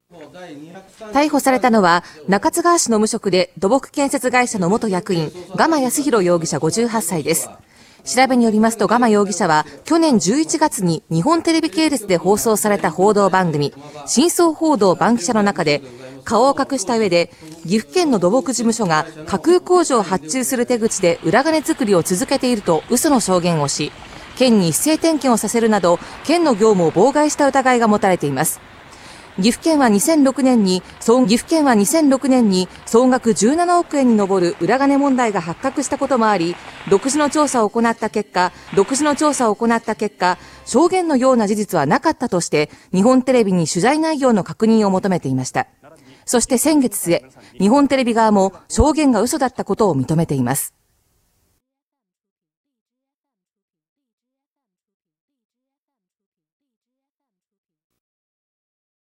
逮捕されたのは中津川市の無職で土木建設会社の元役員蒲康弘容疑者58歳です。調べによりますと蒲容疑者は去年11月に日本テレビ系列で放送された報道番組真相報道番記者の中で顔を隠した上で岐阜県の土木事務所が架空工事を発注する手口で裏金作りを続けていると嘘の証言をし、県に一斉点検をさせるなど県の業務を妨害した疑いが持たれています。岐阜県は2006年に総額17億円に上る裏金問題が発覚したこともあり、独自の調査を行った結果、証言のような事実はなかったとして日本テレビに取材内容の確認を求めていました。そして先月末、日本テレビ側も証言が嘘だったことを認めています。